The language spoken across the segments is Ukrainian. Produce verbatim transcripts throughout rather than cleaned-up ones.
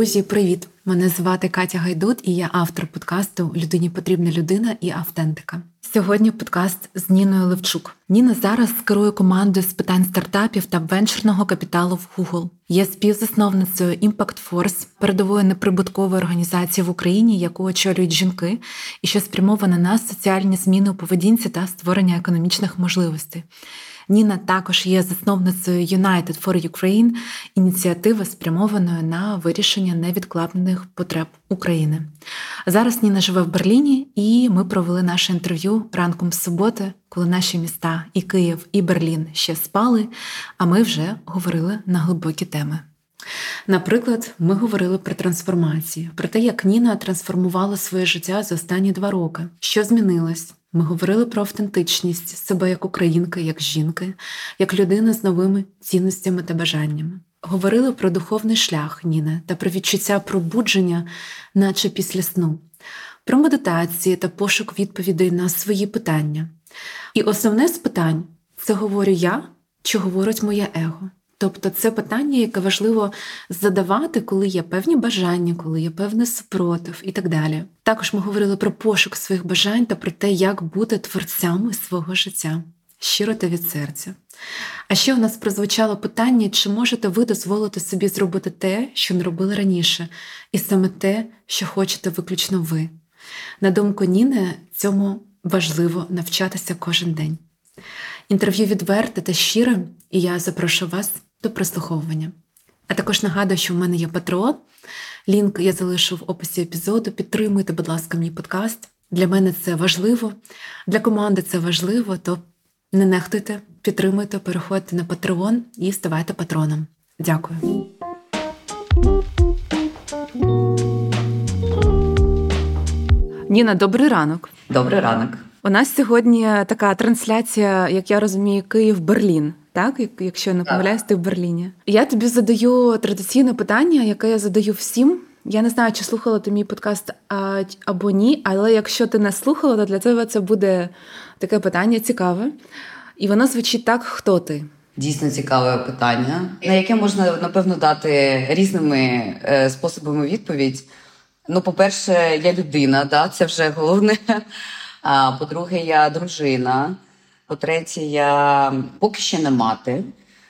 Друзі, привіт! Мене звати Катя Гайдут, і я автор подкасту «Людині потрібна людина» і «Автентика». Сьогодні подкаст з Ніною Левчук. Ніна зараз керує командою з питань стартапів та венчурного капіталу в Google. Є співзасновницею Impact Force, передової неприбуткової організації в Україні, яку очолюють жінки, і що спрямована на соціальні зміни у поведінці та створення економічних можливостей. Ніна також є засновницею United for Ukraine, ініціативи, спрямованої на вирішення невідкладних потреб України. Зараз Ніна живе в Берліні, і ми провели наше інтерв'ю ранком з суботи, коли наші міста і Київ, і Берлін ще спали, а ми вже говорили на глибокі теми. Наприклад, ми говорили про трансформацію, про те, як Ніна трансформувала своє життя за останні два роки, що змінилось. Ми говорили про автентичність себе як українки, як жінки, як людина з новими цінностями та бажаннями. Говорили про духовний шлях Ніни та про відчуття пробудження, наче після сну. Про медитації та пошук відповідей на свої питання. І основне з питань – це говорю я чи говорить моє его? Тобто це питання, яке важливо задавати, коли є певні бажання, коли є певний супротив і так далі. Також ми говорили про пошук своїх бажань та про те, як бути творцями свого життя. Щиро та від серця. А ще у нас прозвучало питання, чи можете ви дозволити собі зробити те, що не робили раніше, і саме те, що хочете виключно ви. На думку Ніни, цьому важливо навчатися кожен день. Інтерв'ю відверте та щире, і я запрошую вас до прослуховування. А також нагадую, що в мене є Patreon. Лінк я залишу в описі епізоду. Підтримуйте, будь ласка, мій подкаст. Для мене це важливо, для команди це важливо, то не нехтуйте, підтримуйте, переходьте на Patreon і ставайте патроном. Дякую. Ніна, добрий ранок. Добрий ранок. У нас сьогодні така трансляція, як я розумію, Київ-Берлін. Так, якщо я не помиляюсь, ти в Берліні. Я тобі задаю традиційне питання, яке я задаю всім. Я не знаю, чи слухала ти мій подкаст а, або ні, але якщо ти не слухала, то для тебе це буде таке питання цікаве. І воно звучить так: хто ти? Дійсно цікаве питання, на яке можна, напевно, дати різними е, способами відповідь. Ну, по-перше, я людина, да, це вже головне. А по-друге, я дружина. По-третє, я поки ще не мати,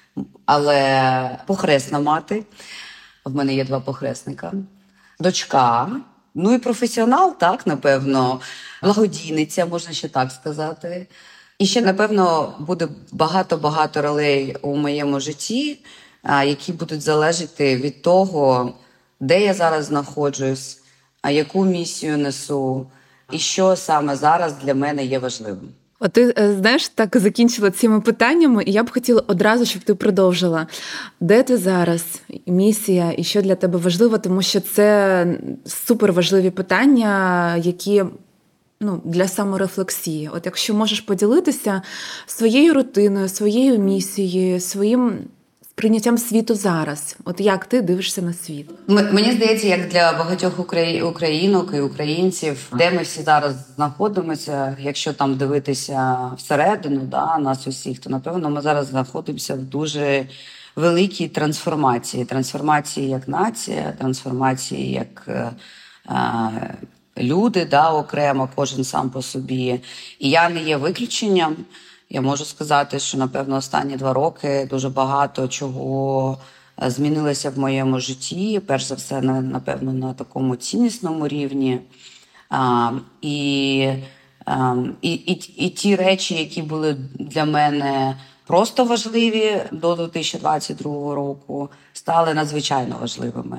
але похресна мати. В мене є два похресника. Дочка. Ну і професіонал, так, напевно. Благодійниця, можна ще так сказати. І ще, напевно, буде багато-багато ролей у моєму житті, які будуть залежати від того, де я зараз знаходжусь, а яку місію несу, і що саме зараз для мене є важливим. От ти, знаєш, так закінчила цими питаннями, і я б хотіла одразу, щоб ти продовжила. Де ти зараз? Місія? І що для тебе важливо? Тому що це суперважливі питання, які, ну, для саморефлексії. От якщо можеш поділитися своєю рутиною, своєю місією, своїм прийняттям світу зараз. От як ти дивишся на світ? Мені здається, як для багатьох українок і українців, де ми всі зараз знаходимося, якщо там дивитися всередину, да, нас усіх, то, напевно, ми зараз знаходимося в дуже великій трансформації. Трансформації як нація, трансформації як е, люди, да, окремо, кожен сам по собі. І я не є виключенням. Я можу сказати, що, напевно, останні два роки дуже багато чого змінилося в моєму житті. Перш за все, напевно, на такому ціннісному рівні. А, і, а, і, і, і ті речі, які були для мене просто важливі до дві тисячі двадцять другого року, стали надзвичайно важливими.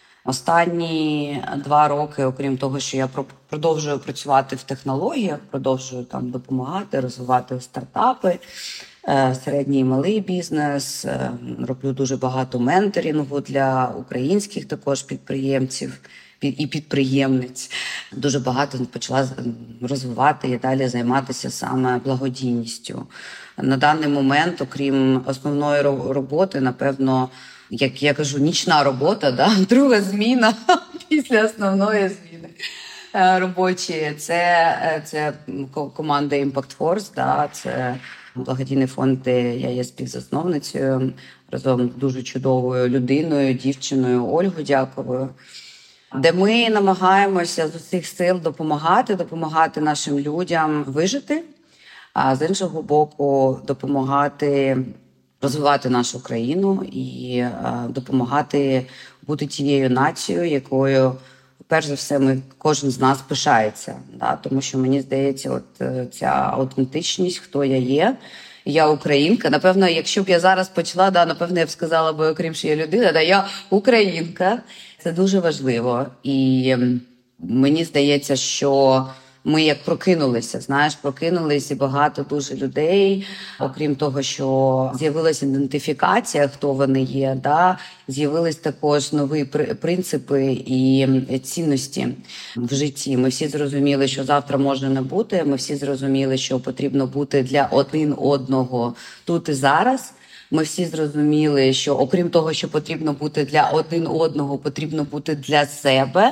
Останні два роки, окрім того, що я продовжую працювати в технологіях, продовжую там допомагати, розвивати стартапи, середній і малий бізнес, роблю дуже багато менторингу для українських також підприємців і підприємниць. Дуже багато почала розвивати і далі займатися саме благодійністю. На даний момент, окрім основної роботи, напевно, як я кажу, нічна робота, да? Друга зміна після основної зміни робочої. Це, це команда Impact Force, да? Це благодійний фонд, де я є співзасновницею. разом з дуже чудовою людиною, дівчиною Ольгою Дяковою, де ми намагаємося з усіх сил допомагати, допомагати нашим людям вижити, а з іншого боку допомагати розвивати нашу країну і допомагати бути тією нацією, якою, перш за все, ми, кожен з нас пишається. Да? Тому що, мені здається, от ця автентичність, хто я є, я українка. Напевно, якщо б я зараз почала, да, напевно, я б сказала, бо окрім, що я людина, да, я українка. Це дуже важливо. І мені здається, що ми як прокинулися, знаєш, прокинулися, і багато дуже людей, окрім того, що з'явилася ідентифікація, хто вони є, да, з'явились також нові принципи і цінності в житті. Ми всі зрозуміли, що завтра може не бути, ми всі зрозуміли, що потрібно бути для один одного тут і зараз. Ми всі зрозуміли, що окрім того, що потрібно бути для один одного, потрібно бути для себе.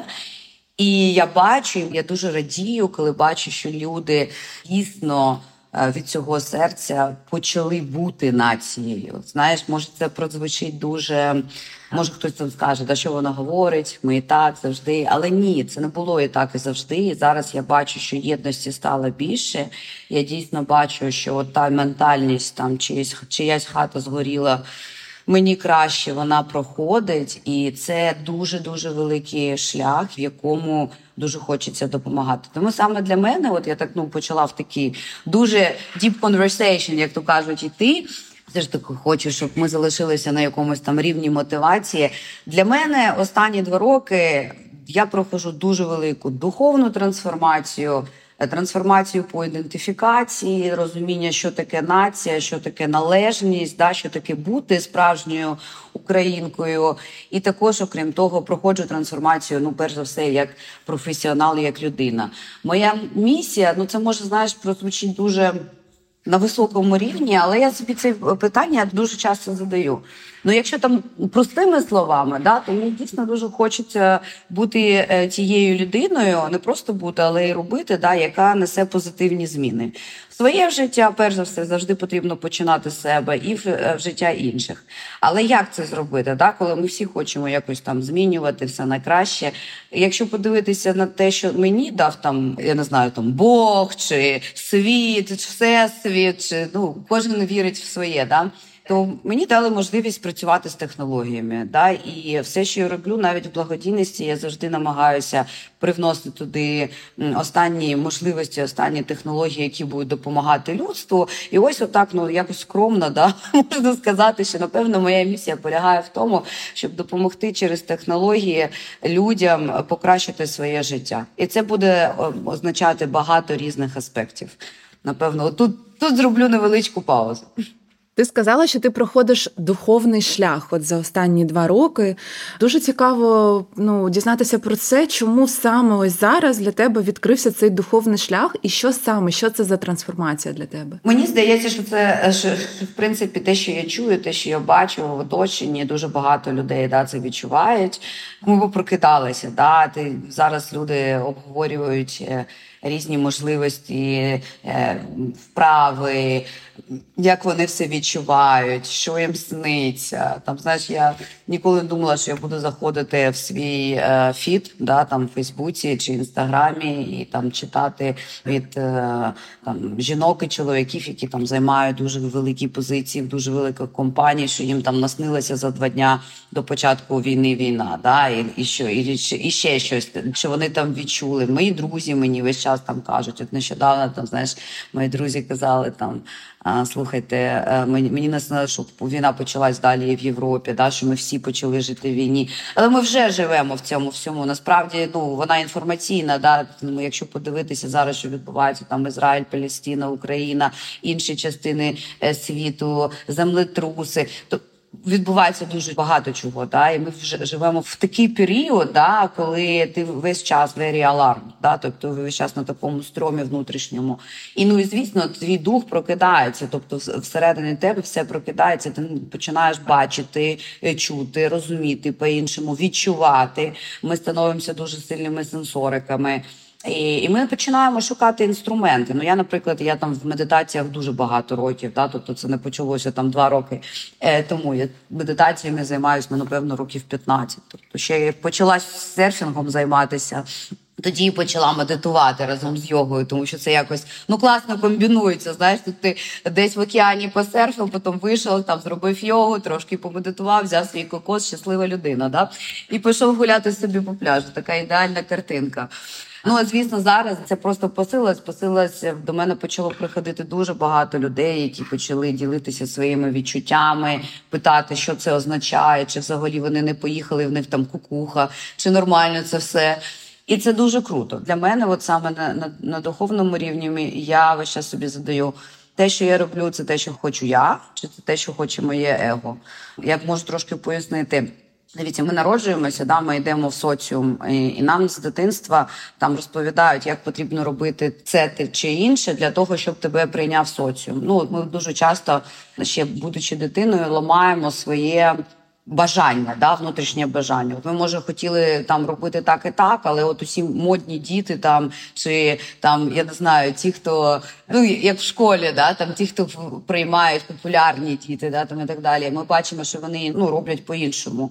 І я бачу, я дуже радію, коли бачу, що люди дійсно від цього серця почали бути нацією. Знаєш, може це прозвучить дуже, може хтось там скаже, да що вона говорить, ми і так завжди. Але ні, це не було і так і завжди. І зараз я бачу, що єдності стало більше. Я дійсно бачу, що та ментальність, там чиясь, чиясь хата згоріла, мені краще, вона проходить, і це дуже-дуже великий шлях, в якому дуже хочеться допомагати. Тому саме для мене, от я так ну почала в такий дуже deep conversation, як то кажуть, іти. Все ж таки хочу, щоб ми залишилися на якомусь там рівні мотивації. Для мене останні два роки я проходжу дуже велику духовну трансформацію, трансформацію по ідентифікації, розуміння, що таке нація, що таке належність, да, що таке бути справжньою українкою. І також, окрім того, проходжу трансформацію, ну, перш за все, як професіонал, як людина. Моя місія, ну, це може, знаєш, прозвучить дуже на високому рівні, але я собі це питання дуже часто задаю. Ну, якщо там простими словами, да, то мені дійсно дуже хочеться бути е, тією людиною, не просто бути, але й робити, да, яка несе позитивні зміни. В своє життя, перш за все, завжди потрібно починати з себе і в, в життя інших. Але як це зробити, да, коли ми всі хочемо якось там змінювати все на краще? Якщо подивитися на те, що мені дав там, я не знаю, там Бог, чи світ, чи всесвіт, чи, ну, кожен вірить в своє, да? То мені дали можливість працювати з технологіями. Да? І все, що я роблю, навіть в благодійності, я завжди намагаюся привносити туди останні можливості, останні технології, які будуть допомагати людству. І ось отак, ну, якось скромно, да? Можна сказати, що, напевно, моя місія полягає в тому, щоб допомогти через технології людям покращити своє життя. І це буде означати багато різних аспектів. Напевно, тут, тут зроблю невеличку паузу. Ти сказала, що ти проходиш духовний шлях от за останні два роки. Дуже цікаво, ну, дізнатися про це, чому саме ось зараз для тебе відкрився цей духовний шлях, і що саме, що це за трансформація для тебе? Мені здається, що це, що, в принципі, те, що я чую, те, що я бачу в оточенні, дуже багато людей, да, це відчувають. Ми прокидалися, да, ти, зараз люди обговорюють різні можливості, вправи, як вони все відчувають, що їм сниться. Там, знаєш, я ніколи не думала, що я буду заходити в свій е, фід, да, там, в Фейсбуці чи Інстаграмі і там читати від е, там, жінок і чоловіків, які там займають дуже великі позиції в дуже великих компаній, що їм там наснилося за два дня до початку війни війна, да, і, і, що, і, і ще щось, що вони там відчули. Мої друзі мені весь час там кажуть, от нещодавно, там, знаєш, мої друзі казали, там, а, слухайте, мені, мені наснилося, що війна почалась далі в Європі, да, що ми всі почали жити в війні. Але ми вже живемо в цьому всьому. Насправді, ну, вона інформаційна, да, якщо подивитися зараз, що відбувається там Ізраїль, Палестина, Україна, інші частини світу, землетруси, то відбувається дуже багато чого, да, і ми вже живемо в такий період, да, коли ти весь час very alarm, да, тобто весь час на такому стромі внутрішньому. І, ну, і, звісно, твій дух прокидається, тобто всередині тебе все прокидається, ти починаєш бачити, чути, розуміти по-іншому, відчувати. Ми становимося дуже сильними сенсориками. І, і ми починаємо шукати інструменти. Ну, я, наприклад, я там в медитаціях дуже багато років, да? Тобто це не почалося там два роки е, тому. Я медитаціями займаюся, ну, напевно, років п'ятнадцять. Тобто ще я почала серфінгом займатися, тоді почала медитувати разом з йогою, тому що це якось, ну, класно комбінується, знаєш, тут ти десь в океані посерфив, потім вийшов, там зробив йогу, трошки помедитував, взяв свій кокос, щаслива людина, да? І пішов гуляти собі по пляжу. Така ідеальна картинка. Ну, а звісно, зараз це просто посилилось, посилилось, до мене почало приходити дуже багато людей, які почали ділитися своїми відчуттями, питати, що це означає, чи взагалі вони не поїхали, в них там кукуха, чи нормально це все. І це дуже круто. Для мене, от саме на, на, на духовному рівні, я весь час собі задаю, те, що я роблю, це те, що хочу я, чи це те, що хоче моє его. Я можу трошки пояснити. Дивіться, ми народжуємося, да, ми йдемо в соціум, і, і нам з дитинства там розповідають, як потрібно робити це чи інше для того, щоб тебе прийняв соціум. Ну, ми дуже часто, ще будучи дитиною, ламаємо своє бажання, да, внутрішнє бажання. От ми, може, хотіли там робити так і так, але от усі модні діти там, чи там, я не знаю, ті, хто, ну, як в школі, да, там ті, хто приймають популярні діти, да, там і так далі. Ми бачимо, що вони, ну, роблять по-іншому.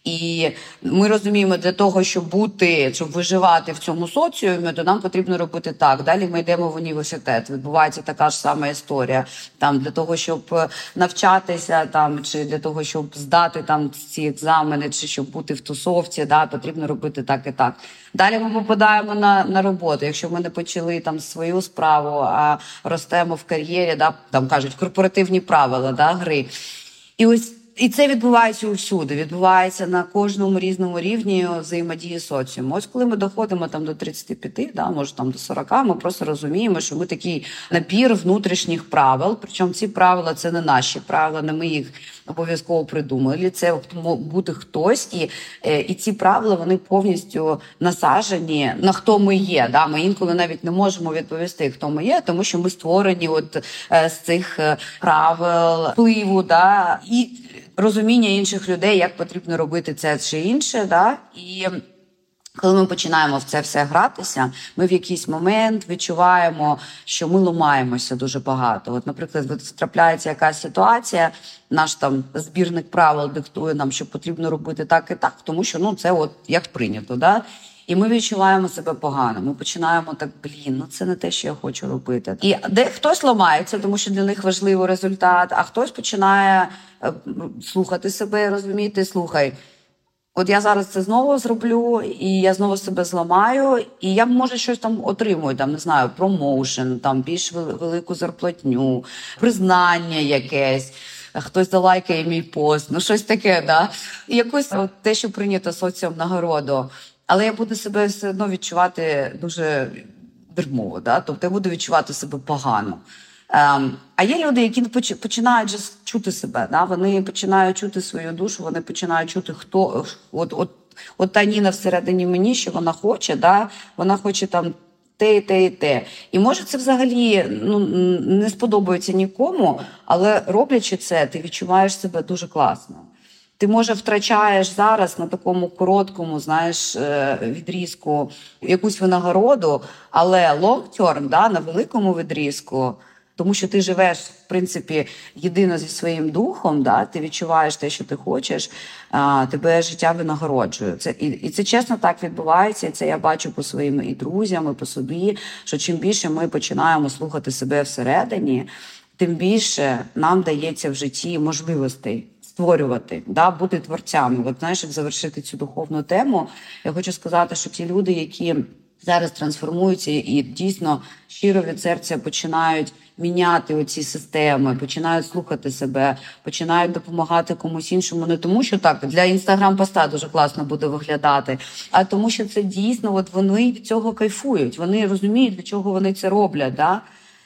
І ми розуміємо, для того, щоб бути, щоб виживати в цьому соціумі, то нам потрібно робити так. Далі ми йдемо в університет. Відбувається така ж сама історія. Там для того, щоб навчатися, там чи для того, щоб здати там ці екзамени, чи щоб бути в тусовці, да, потрібно робити так і так. Далі ми попадаємо на, на роботу. Якщо ми не почали там свою справу, а ростемо в кар'єрі, да, там кажуть, корпоративні правила, да, гри. І ось І це відбувається усюди, відбувається на кожному різному рівні взаємодії соціуму. Ось коли ми доходимо там до тридцяти п'яти, да, може там до сорока, ми просто розуміємо, що ми такий набір внутрішніх правил, причому ці правила – це не наші правила, не ми їх обов'язково придумали, це бути хтось, і, і ці правила, вони повністю насаджені на хто ми є. Да? Ми інколи навіть не можемо відповісти, хто ми є, тому що ми створені от з цих правил, впливу, да? І розуміння інших людей, як потрібно робити це чи інше, да? І коли ми починаємо в це все гратися, ми в якийсь момент відчуваємо, що ми ламаємося дуже багато. От, наприклад, от трапляється якась ситуація, наш там збірник правил диктує нам, що потрібно робити так і так, тому що, ну, це от як прийнято, да? І ми відчуваємо себе погано. Ми починаємо так, блін, ну це не те, що я хочу робити. І де хтось ламається, тому що для них важливий результат, а хтось починає е, слухати себе і розуміти, слухай, от я зараз це знову зроблю, і я знову себе зламаю, і я, може, щось там отримую, там, не знаю, промоушен, там, більш велику зарплатню, признання якесь, хтось залайкає мій пост, ну щось таке, да? І якось от те, що прийнято соціум нагороду. Але я буду себе все одно відчувати дуже дерьмово, да? Тобто я буду відчувати себе погано. Ем, а є люди, які починають just чути себе, да? Вони починають чути свою душу, вони починають чути, хто, от, от, от та Ніна всередині мені, що вона хоче, да? Вона хоче там те і те і те. І може це взагалі, ну, не сподобається нікому, але роблячи це, ти відчуваєш себе дуже класно. Ти, може, втрачаєш зараз на такому короткому, знаєш, відрізку якусь винагороду, але long-term, да, на великому відрізку, тому що ти живеш, в принципі, єдино зі своїм духом, да, ти відчуваєш те, що ти хочеш, а, тебе життя винагороджує. Це, і, і це чесно так відбувається, і це я бачу по своїм і друзям, і по собі, що чим більше ми починаємо слухати себе всередині, тим більше нам дається в житті можливостей створювати, да, бути творцями. От, знаєш, як завершити цю духовну тему, я хочу сказати, що ті люди, які зараз трансформуються і дійсно щиро від серця починають міняти оці системи, починають слухати себе, починають допомагати комусь іншому, не тому, що так, для інстаграм-поста дуже класно буде виглядати, а тому, що це дійсно, от вони від цього кайфують, вони розуміють, для чого вони це роблять, да?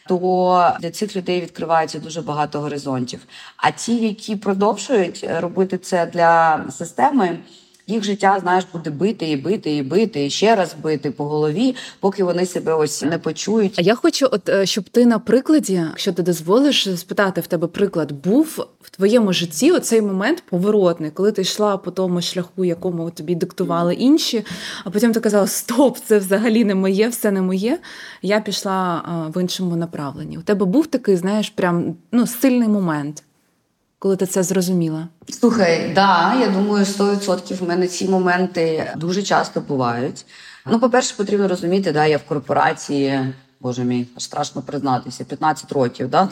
То для цих людей відкривається дуже багато горизонтів. А ті, які продовжують робити це для системи, їх життя, знаєш, буде бити і бити і бити, і ще раз бити по голові, поки вони себе ось не почують. А я хочу, от щоб ти на прикладі, якщо ти дозволиш, спитати в тебе приклад, був в твоєму житті оцей момент поворотний, коли ти йшла по тому шляху, якому тобі диктували інші, а потім ти казала, стоп, це взагалі не моє, все не моє, я пішла в іншому направленні. У тебе був такий, знаєш, прям, ну, сильний момент, коли ти це зрозуміла? Слухай, да, я думаю, сто відсотків в мене ці моменти дуже часто бувають. Ну, по-перше, потрібно розуміти, да, я в корпорації, боже мій, аж страшно признатися, п'ятнадцять років, да,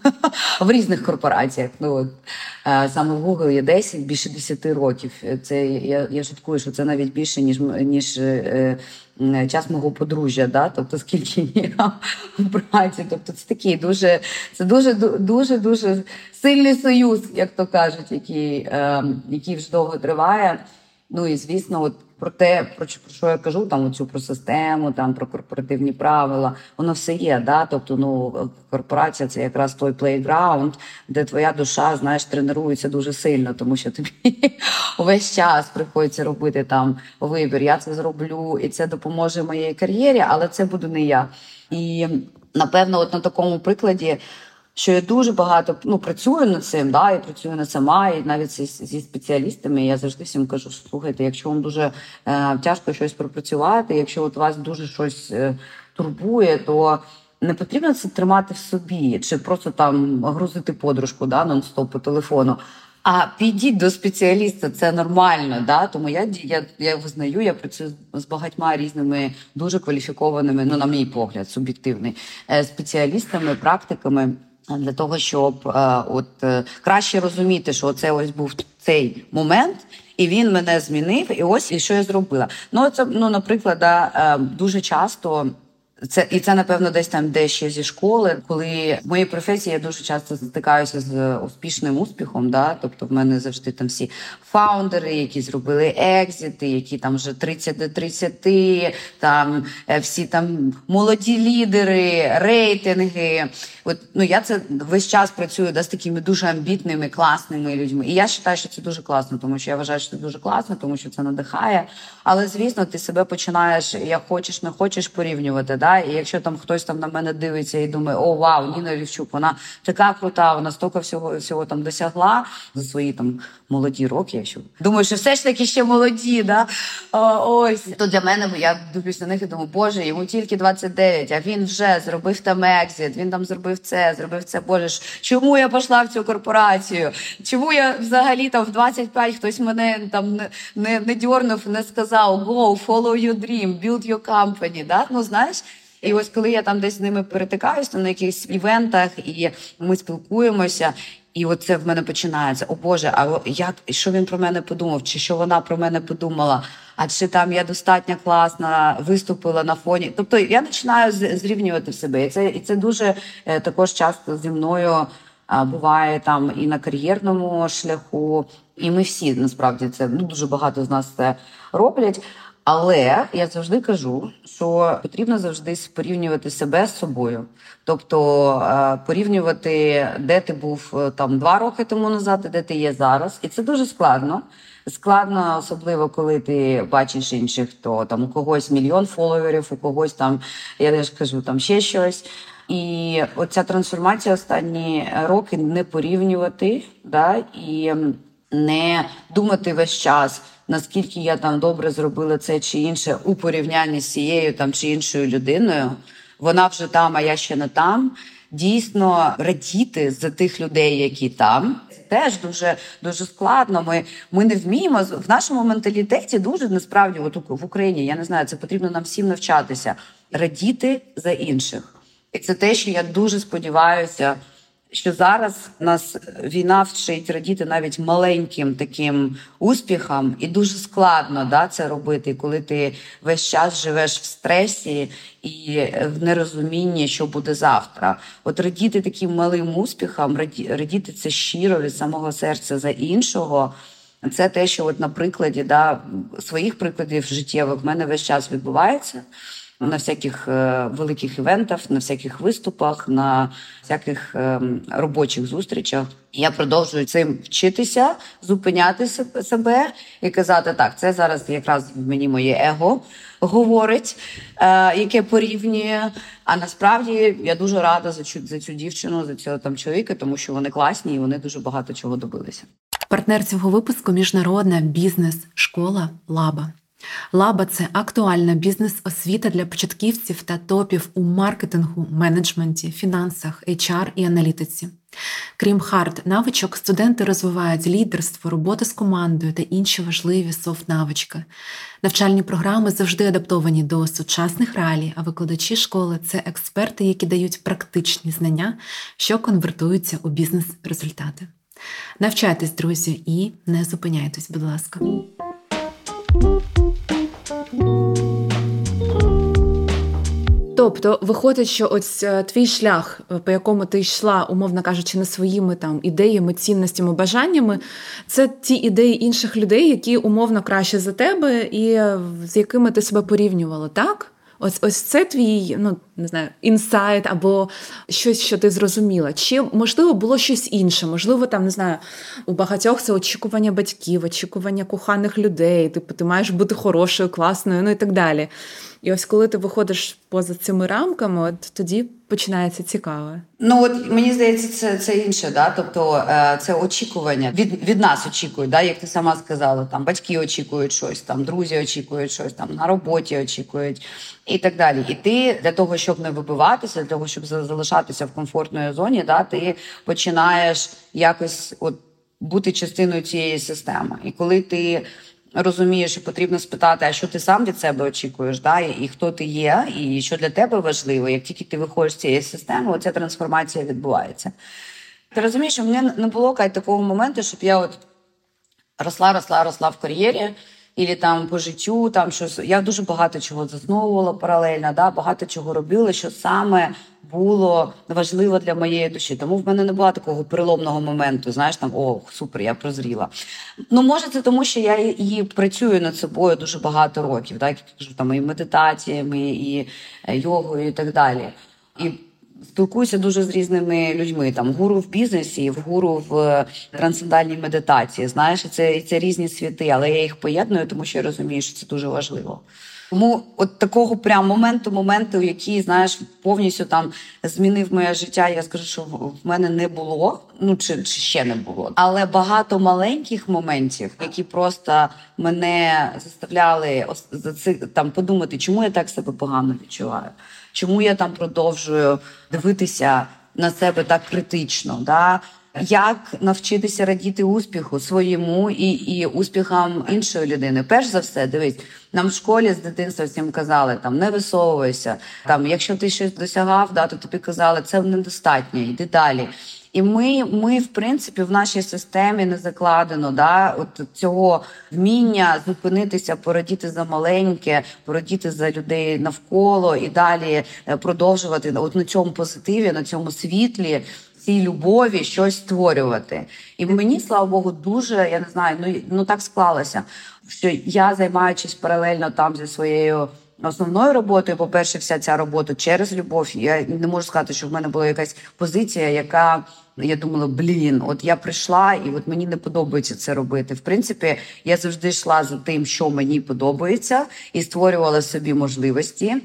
в різних корпораціях. Ну, от, саме в Google є десять, більше десять років. Це, я, я шуткую, що це навіть більше, ніж, ніж е, час мого подружжя, да, тобто скільки я в праці. Тобто це такий дуже, це дуже, дуже, дуже сильний союз, як то кажуть, який, е, який вже довго триває. Ну і, звісно, от про те, про що я кажу, там оцю про систему, там про корпоративні правила, воно все є, да? Тобто, ну, корпорація – це якраз той плейграунд, де твоя душа, знаєш, тренується дуже сильно, тому що тобі увесь час приходиться робити там вибір, я це зроблю, і це допоможе моїй кар'єрі, але це буду не я. І, напевно, от на такому прикладі, що я дуже багато, ну, працюю над цим, да, і працюю не сама, і навіть зі, зі спеціалістами. Я завжди всім кажу, слухайте, якщо вам дуже е, тяжко щось пропрацювати, якщо от вас дуже щось е, турбує, то не потрібно це тримати в собі, чи просто там грузити подружку, да, нон-стоп по телефону. А підіть до спеціаліста, це нормально, да? Тому я, я, я визнаю, я працюю з багатьма різними дуже кваліфікованими, ну, на мій погляд, суб'єктивний, спеціалістами, практиками, для того, щоб е, от, е, краще розуміти, що це ось був цей момент, і він мене змінив, і ось і що я зробила. Ну, це, ну, наприклад, да, е, дуже часто, це, і це, напевно, десь там, де ще зі школи, коли в моїй професії я дуже часто стикаюся з успішним успіхом, да? Тобто в мене завжди там всі фаундери, які зробили екзити, які там вже тридцять до тридцяти, там всі там молоді лідери, рейтинги. От, ну, я це весь час працюю, да, з такими дуже амбітними, класними людьми. І я вважаю, що це дуже класно, тому що я вважаю, що це дуже класно, тому що це надихає. Але, звісно, ти себе починаєш, як хочеш, не хочеш порівнювати. Да? І якщо там хтось там на мене дивиться і думає, о, вау, Ніна Лівчук, вона така крута, вона стільки всього, всього там досягла за свої там молоді роки. Якщо думаю, що все ж таки ще молоді, да? О, ось. То для мене, я дивлюсь на них і думаю, боже, йому тільки двадцять дев'ять, а він вже зробив там екзит, він там зробив це, зробив це, боже ж, чому я пішла в цю корпорацію? Чому я взагалі там в двадцять п'ять хтось мене там не, не, не дьорнув, не сказав, go, follow your dream, build your company, да? Ну, знаєш, і ось коли я там десь з ними перетикаюсь, там на якихось івентах, і ми спілкуємося, і от це в мене починається. О Боже, а як, що він про мене подумав? Чи що вона про мене подумала? А чи там я достатньо класно виступила на фоні? Тобто я починаю зрівнювати себе. І це, і це дуже е, також часто зі мною е, буває там і на кар'єрному шляху. І ми всі, насправді, це, ну, дуже багато з нас це роблять. Але я завжди кажу, що потрібно завжди порівнювати себе з собою. Тобто порівнювати, де ти був там два роки тому назад, і де ти є зараз. І це дуже складно. Складно, особливо, коли ти бачиш інших, то там у когось мільйон фоловерів, у когось там, я ж кажу, там ще щось. І оця трансформація останні роки не порівнювати, да, і не думати весь час, наскільки я там добре зробила це чи інше у порівнянні з цією там чи іншою людиною. Вона вже там, а я ще не там. Дійсно, радіти за тих людей, які там. Це теж дуже, дуже складно. Ми, ми не вміємо. В нашому менталітеті дуже, насправді, от в Україні, я не знаю, це потрібно нам всім навчатися. Радіти за інших. І це те, що я дуже сподіваюся, що зараз нас війна вчить радіти навіть маленьким таким успіхам, і дуже складно, да, це робити, коли ти весь час живеш в стресі і в нерозумінні, що буде завтра. От радіти таким малим успіхам, радіти це щиро від самого серця за іншого, це те, що от на прикладі, да, своїх прикладів життєвих в мене весь час відбувається. на всяких е, великих івентах, на всяких виступах, на всяких е, робочих зустрічах. Я продовжую цим вчитися, зупиняти себе і казати, так, це зараз якраз мені моє его говорить, е, яке порівнює. А насправді я дуже рада за цю, за цю дівчину, за цього там чоловіка, тому що вони класні і вони дуже багато чого добилися. Партнер цього випуску – міжнародна бізнес-школа «Лаба». «Лаба» – це актуальна бізнес-освіта для початківців та топів у маркетингу, менеджменті, фінансах, ейч ар і аналітиці. Крім хард-навичок, студенти розвивають лідерство, роботу з командою та інші важливі софт-навички. Навчальні програми завжди адаптовані до сучасних реалій, а викладачі школи – це експерти, які дають практичні знання, що конвертуються у бізнес-результати. Навчайтесь, друзі, і не зупиняйтесь, будь ласка. Тобто, виходить, що ось твій шлях, по якому ти йшла, умовно кажучи, не своїми там ідеями, цінностями, бажаннями, це ті ідеї інших людей, які умовно краще за тебе і з якими ти себе порівнювала, так? Ось, ось це твій, ну, не знаю, інсайт або щось, що ти зрозуміла. Чи, можливо, було щось інше? Можливо, там, не знаю, у багатьох це очікування батьків, очікування коханих людей, типу, ти маєш бути хорошою, класною, ну і так далі. І ось коли ти виходиш поза цими рамками, от тоді починається цікаве. Ну, от мені здається, це, це інше, да? Тобто це очікування. Від, від нас очікують, да? Як ти сама сказала, там батьки очікують щось, там друзі очікують щось, там на роботі очікують і так далі. І ти для того, щоб не вибиватися, для того, щоб залишатися в комфортній зоні, да? Ти починаєш якось от бути частиною цієї системи. І коли ти розумієш, що потрібно спитати, а що ти сам від себе очікуєш, да? і, і хто ти є, і що для тебе важливо. Як тільки ти виходиш з цієї системи, оця трансформація відбувається. Ти розумієш, що в мене не було Кать, такого моменту, щоб я от росла, росла, росла в кар'єрі, і там по життю, там щось. Я дуже багато чого засновувала паралельно, да? Багато чого робила, що саме було важливо для моєї душі. Тому в мене не було такого переломного моменту, знаєш, там, о, супер, я прозріла. Ну, може, це тому, що я і працюю над собою дуже багато років, так, я кажу, там, і медитаціями, і йогою, і так далі. І спілкуюся дуже з різними людьми, там, гуру в бізнесі, в гуру в трансцендентальній медитації, знаєш, і це, і це різні світи, але я їх поєдную, тому що я розумію, що це дуже важливо. Тому от такого прям моменту, моменту, який, знаєш, повністю там змінив моє життя, я скажу, що в мене не було, ну, чи, чи ще не було. Але багато маленьких моментів, які просто мене заставляли там подумати, чому я так себе погано відчуваю, чому я там продовжую дивитися на себе так критично, да? Як навчитися радіти успіху своєму і, і успіхам іншої людини. Перш за все, дивись, нам в школі з дитинства всім казали, там, не висовуйся, там, якщо ти щось досягав, да, то тобі казали, це недостатньо, йди далі. І ми, ми, в принципі, в нашій системі не закладено, да, от цього вміння зупинитися, порадіти за маленьке, порадіти за людей навколо і далі продовжувати от на цьому позитиві, на цьому світлі, цій любові щось створювати. І мені, слава Богу, дуже, я не знаю, ну, ну так склалося, що я, займаючись паралельно там зі своєю основною роботою, по-перше, вся ця робота через любов, я не можу сказати, що в мене була якась позиція, яка, я думала, блін, от я прийшла і от мені не подобається це робити. В принципі, я завжди йшла за тим, що мені подобається, і створювала собі можливості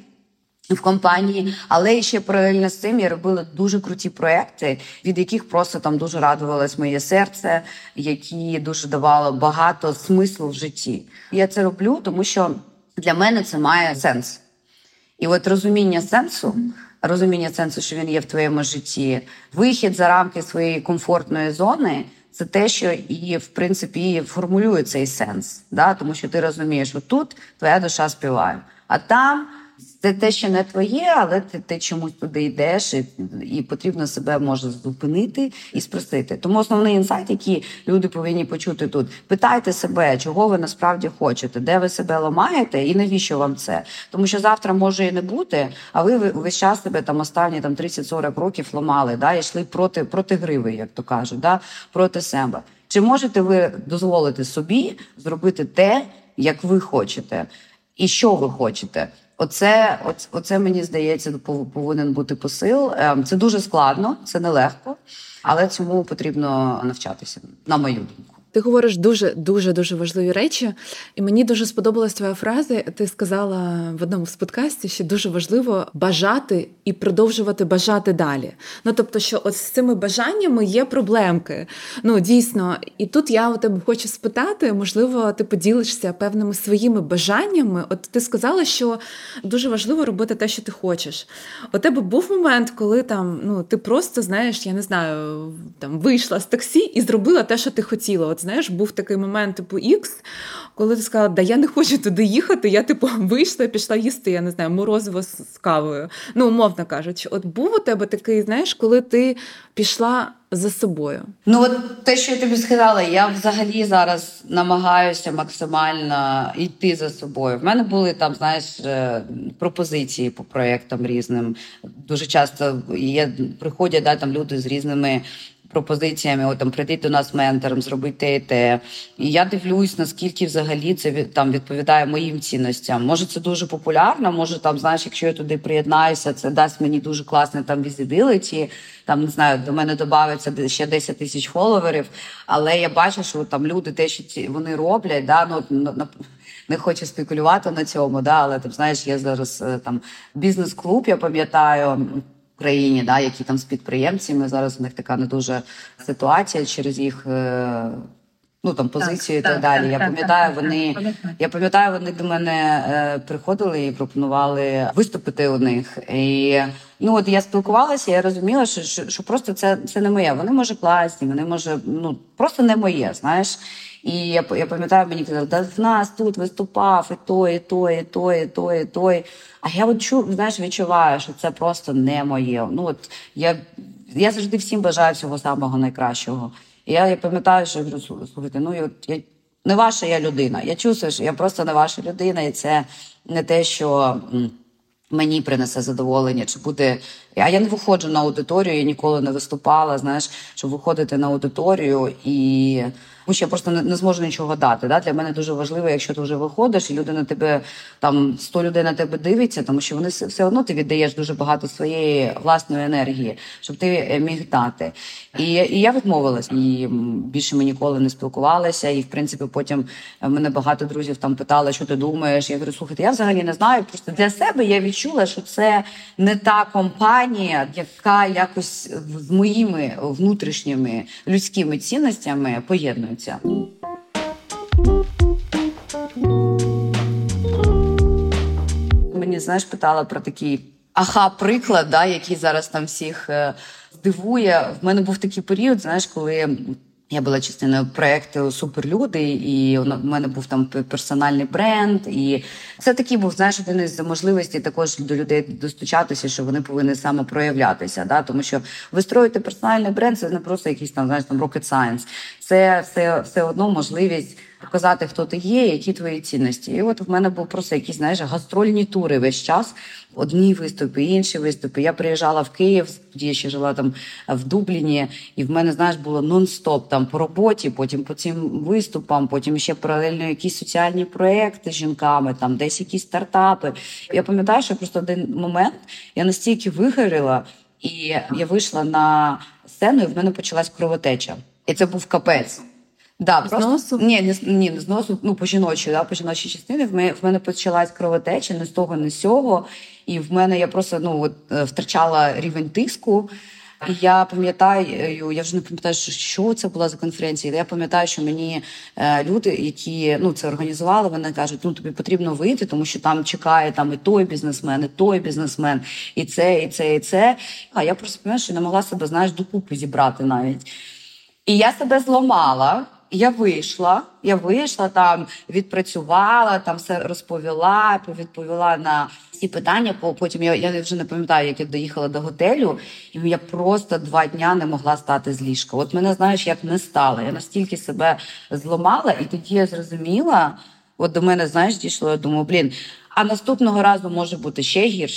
в компанії, але ще паралельно з цим я робила дуже круті проекти, від яких просто там дуже радувалось моє серце, які дуже давало багато смислу в житті. Я це роблю, тому що для мене це має сенс. І от розуміння сенсу, розуміння сенсу, що він є в твоєму житті, вихід за рамки своєї комфортної зони – це те, що і, в принципі, і формулює цей сенс. Да? Тому що ти розумієш, що тут твоя душа співає, а там це те, що не твоє, але ти, ти чомусь туди йдеш, і, і потрібно себе, може, зупинити і спростити. Тому основний інсайт, який люди повинні почути тут, питайте себе, чого ви насправді хочете, де ви себе ламаєте і навіщо вам це. Тому що завтра може і не бути, а ви весь час себе там останні там, тридцять-сорок років ламали, да, і йшли проти, проти гриви, як то кажуть, да, проти себе. Чи можете ви дозволити собі зробити те, як ви хочете? І що ви хочете? Оце, оце, оце, мені здається, повинен бути посил. Це дуже складно, це нелегко, але цьому потрібно навчатися, на мою думку. Ти говориш дуже-дуже-дуже важливі речі, і мені дуже сподобалась твоя фраза. Ти сказала в одному з подкастів, що дуже важливо бажати і продовжувати бажати далі. Ну, тобто, що от з цими бажаннями є проблемки. Ну, дійсно. І тут я у тебе хочу спитати, можливо, ти поділишся певними своїми бажаннями. От ти сказала, що дуже важливо робити те, що ти хочеш. У тебе був момент, коли там, ну, ти просто, знаєш, я не знаю, там вийшла з таксі і зробила те, що ти хотіла. От, знаєш, був такий момент, типу, X, коли ти сказала, да я не хочу туди їхати, я, типу, вийшла і пішла їсти, я не знаю, морозиво з кавою. Ну, умовно кажучи. От був у тебе такий, знаєш, коли ти пішла за собою? Ну, от те, що я тобі сказала, я взагалі зараз намагаюся максимально йти за собою. В мене були там, знаєш, пропозиції по проєктам різним. Дуже часто є, приходять, да, там люди з різними пропозиціями, от там прийти до нас ментором, зробити те і те. І я дивлюсь, наскільки взагалі це від, там відповідає моїм цінностям. Може, це дуже популярно, може, там, знаєш, якщо я туди приєднаюся, це дасть мені дуже класне там візибіліті, там, не знаю, до мене додається ще десять тисяч фоловерів, але я бачу, що там люди те, що ці, вони роблять, да, ну, не хочу спекулювати на цьому, да, але там, знаєш, є зараз там бізнес-клуб, я пам'ятаю, в Україні, да, які там з підприємцями, зараз у них така не дуже ситуація через їх ну, там, позицію так, і так, так далі. Так, я пам'ятаю, так, вони, так, я пам'ятаю, вони до мене е, приходили і пропонували виступити у них. І ну, от я спілкувалася, я розуміла, що, що, що просто це, це не моє. Вони, може, класні, вони, може, ну, просто не моє, знаєш. І я, я пам'ятаю, мені казали, да в нас тут виступав і той, і той, і той, і той, і той. А я от чу, знаєш, відчуваю, що це просто не моє. Ну, от я, я завжди всім бажаю всього самого найкращого. І я, я пам'ятаю, що я говорю, слухайте, ну, я, я, не ваша я людина. Я чувствую, що я просто не ваша людина, і це не те, що мені принесе задоволення, чи буде... А я не виходжу на аудиторію, я ніколи не виступала, знаєш, щоб виходити на аудиторію і... Тому що я просто не, не зможу нічого дати. Да? Для мене дуже важливо, якщо ти вже виходиш, і люди на тебе, там, сто людей на тебе дивиться, тому що вони все одно ти віддаєш дуже багато своєї власної енергії, щоб ти міг дати. І, і я відмовилась. І більше ми ніколи не спілкувалися. І, в принципі, потім мене багато друзів там питали, що ти думаєш. Я говорю, слухайте, я взагалі не знаю. Просто для себе я відчула, що це не та компанія, яка якось з моїми внутрішніми людськими цінностями поєднується. Мені, знаєш, питала про такий аха-приклад, да, який зараз там всіх е, здивує. В мене був такий період, знаєш, коли я була частиною проєкту «Суперлюди», і в мене був там персональний бренд. І це такий був, знаєш, один із можливостей також до людей достучатися, що вони повинні самопроявлятися. Да? Тому що вистроїти персональний бренд – це не просто якийсь там, знаєш, там rocket science. Це все, все одно можливість показати, хто ти є, які твої цінності. І от в мене був просто якісь, знаєш, гастрольні тури весь час. Одні виступи, інші виступи. Я приїжджала в Київ, тоді я ще жила там в Дубліні, і в мене, знаєш, було нон-стоп там по роботі, потім по цим виступам, потім ще паралельно якісь соціальні проекти з жінками, там десь якісь стартапи. Я пам'ятаю, що просто один момент я настільки вигоріла, і я вийшла на сцену, і в мене почалась кровотеча. І це був капець. Да, з просто... носу? Ні, не, ні, не з носу, ну, по жіночій, да, по жіночій частині. В мене, в мене почалась кровотеча, не з того, не з цього. І в мене я просто, ну, от, втрачала рівень тиску. І я пам'ятаю, я вже не пам'ятаю, що, що це була за конференція. Я пам'ятаю, що мені е, люди, які, ну, це організували, вони кажуть, ну, тобі потрібно вийти, тому що там чекає там і той бізнесмен, і той бізнесмен, і це, і це, і це. А я просто, пам'ятаю, що не могла себе, знаєш, докупи зібрати навіть. І я себе зламала. Я вийшла, я вийшла, там відпрацювала, там все розповіла, відповіла на всі питання. Потім я, я вже не пам'ятаю, як я доїхала до готелю, і я просто два дня не могла стати з ліжка. От мене, знаєш, як не стало. Я настільки себе зламала, і тоді я зрозуміла, от до мене, знаєш, дійшло, я думаю, блін, а наступного разу може бути ще гірше.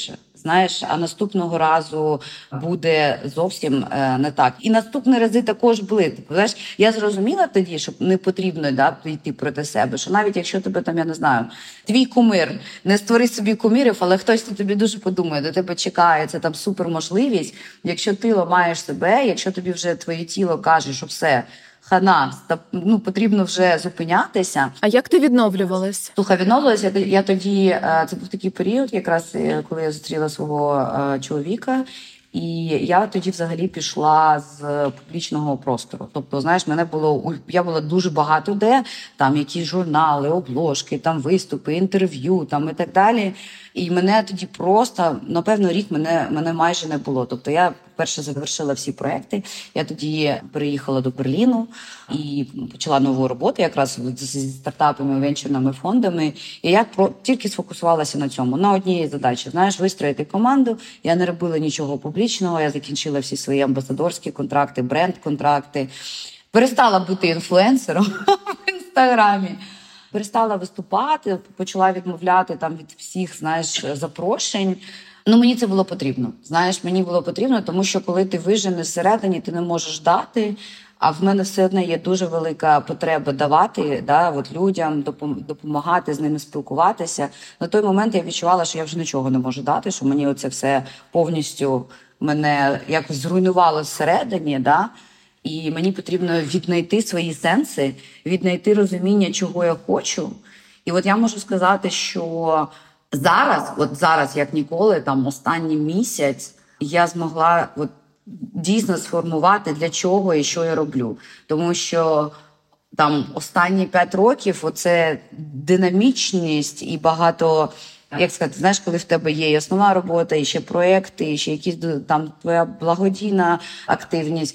знаєш, а наступного разу буде зовсім е, не так. І наступні рази також були. Ти, знаєш, я зрозуміла тоді, що не потрібно, да, йти проти себе, що навіть якщо тебе там, я не знаю, твій кумир, не створи собі кумирів, але хтось тобі дуже подумає, до тебе чекає, це там суперможливість. Якщо ти ламаєш себе, якщо тобі вже твоє тіло каже, що все, хана, ну, потрібно вже зупинятися. А як ти відновлювалась? Слухай, відновилася я тоді, це був такий період, якраз коли я зустріла свого чоловіка, і я тоді взагалі пішла з публічного простору. Тобто, знаєш, мене було, я була дуже багато де, там якісь журнали, обложки, там виступи, інтерв'ю, там і так далі. І мене тоді просто, напевно, рік мене, мене майже не було. Тобто я перше завершила всі проекти, я тоді переїхала до Берліну і почала нову роботу якраз зі стартапами, венчурними фондами. І я про, тільки сфокусувалася на цьому, на одній задачі. Знаєш, вистроїти команду. Я не робила нічого публічного, я закінчила всі свої амбасадорські контракти, бренд-контракти. Перестала бути інфлюенсером в Інстаграмі. Перестала виступати, почала відмовляти там від всіх, знаєш, запрошень. Ну, мені це було потрібно. Знаєш, мені було потрібно, тому що коли ти виженеш всередині, ти не можеш дати, а в мене все одно є дуже велика потреба давати, да, от людям, допомагати, з ними спілкуватися. На той момент я відчувала, що я вже нічого не можу дати, що мені оце все повністю мене якось зруйнувало всередині, да. І мені потрібно віднайти свої сенси, віднайти розуміння, чого я хочу. І от я можу сказати, що зараз, от зараз, як ніколи, там останній місяць, я змогла от дійсно сформувати, для чого і що я роблю. Тому що там останні п'ять років оце динамічність і багато, як сказати, знаєш, коли в тебе є і основна робота, і ще проекти, і ще якісь там твоя благодійна активність.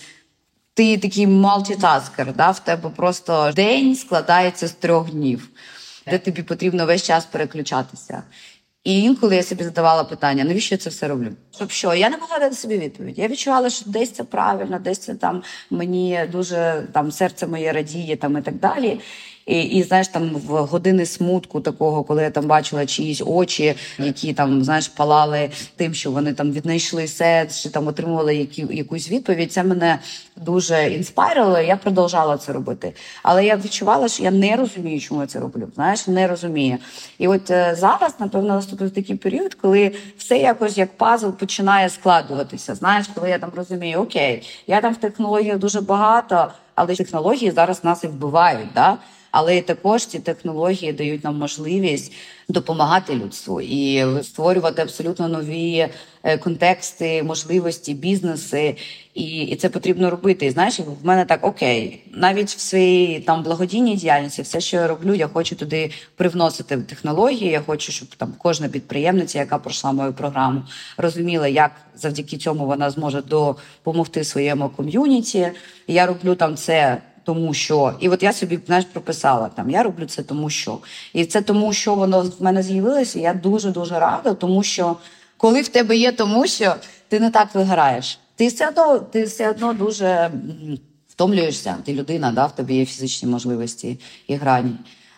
Ти такий мультитаскер, да? В тебе просто день складається з трьох днів, де тобі потрібно весь час переключатися. І інколи я собі задавала питання, навіщо я це все роблю? Щоб що? Я не могла дати собі відповідь. Я відчувала, що десь це правильно, десь це там мені дуже, там серце моє радіє там, і так далі. І, і, знаєш, там в години смутку такого, коли я там бачила чиїсь очі, які там, знаєш, палали тим, що вони там віднайшли сенс, чи там отримували які, якусь відповідь, це мене дуже інспайрило, і я продовжала це робити. Але я відчувала, що я не розумію, чому я це роблю, знаєш, не розумію. І от е, зараз, напевно, наступив такий період, коли все якось як пазл починає складуватися, знаєш, коли я там розумію, окей, я там в технологіях дуже багато, але технології зараз нас і вбивають, да? Але також ці технології дають нам можливість допомагати людству і створювати абсолютно нові контексти, можливості, бізнеси. І, і це потрібно робити. І знаєш, в мене так, окей, навіть в своїй там благодійній діяльності, все, що я роблю, я хочу туди привносити технології, я хочу, щоб там кожна підприємниця, яка пройшла мою програму, розуміла, як завдяки цьому вона зможе допомогти своєму ком'юніті. І я роблю там це тому що. І от я собі, знаєш, прописала, там, я роблю це тому що. І це тому, що воно в мене з'явилося, я дуже-дуже рада, тому що коли в тебе є тому що, ти не так виграєш. Ти все одно, ти все одно дуже втомлюєшся, ти людина, да, в тобі є фізичні можливості і грані.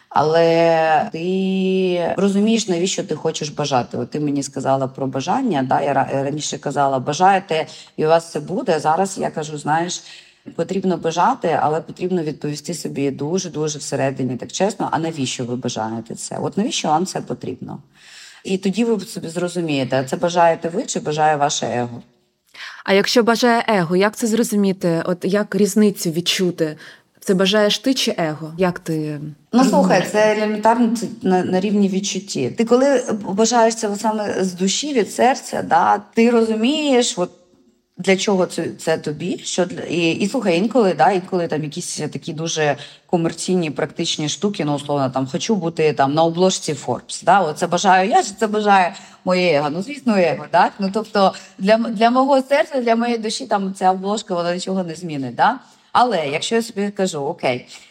Але ти розумієш, навіщо ти хочеш бажати. От ти мені сказала про бажання, да, я раніше казала, бажаєте, і у вас це буде. Зараз я кажу, знаєш, потрібно бажати, але потрібно відповісти собі дуже-дуже всередині, так чесно, а навіщо ви бажаєте це? От навіщо вам це потрібно? І тоді ви собі зрозумієте, це бажаєте ви чи бажає ваше его? А якщо бажає его, як це зрозуміти? От як різницю відчути? Це бажаєш ти чи его? Як ти? Ну, слухай, це елементарно на, на рівні відчутті. Ти коли бажаєш це саме з душі, від серця, да, ти розумієш, от, для чого це, це тобі, що для і, і слухай, інколи, да, інколи там якісь такі дуже комерційні, практичні штуки, ну условно, там хочу бути там на обложці Forbes, да, оце бажаю я, чи це бажає моє его, ну звісно, его, так, ну тобто для для мого серця, для моєї душі там ця обложка вона нічого не змінить, да. Але якщо я собі кажу, окей,